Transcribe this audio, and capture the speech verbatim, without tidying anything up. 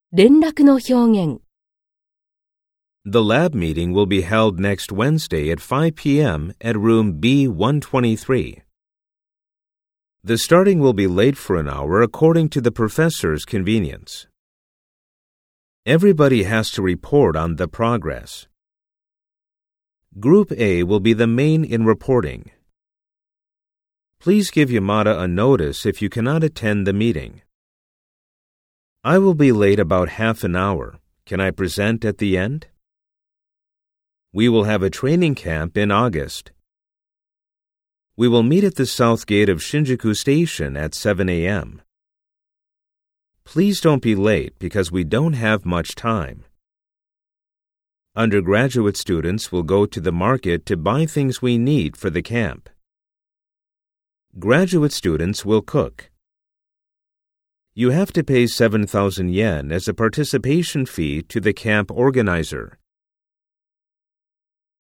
連絡の表現。 The lab meeting will be held next Wednesday at five p.m. at room B one twenty-three. The starting will be late for an hour according to the professor's convenience. Everybody has to report on the progress. Group A will be the main in reporting. Please give Yamada a notice if you cannot attend the meeting. I will be late about half an hour. Can I present at the end? We will have a training camp in August. We will meet at the south gate of Shinjuku Station at seven a.m. Please don't be late because we don't have much time. Undergraduate students will go to the market to buy things we need for the camp. Graduate students will cook. You have to pay seven thousand yen as a participation fee to the camp organizer.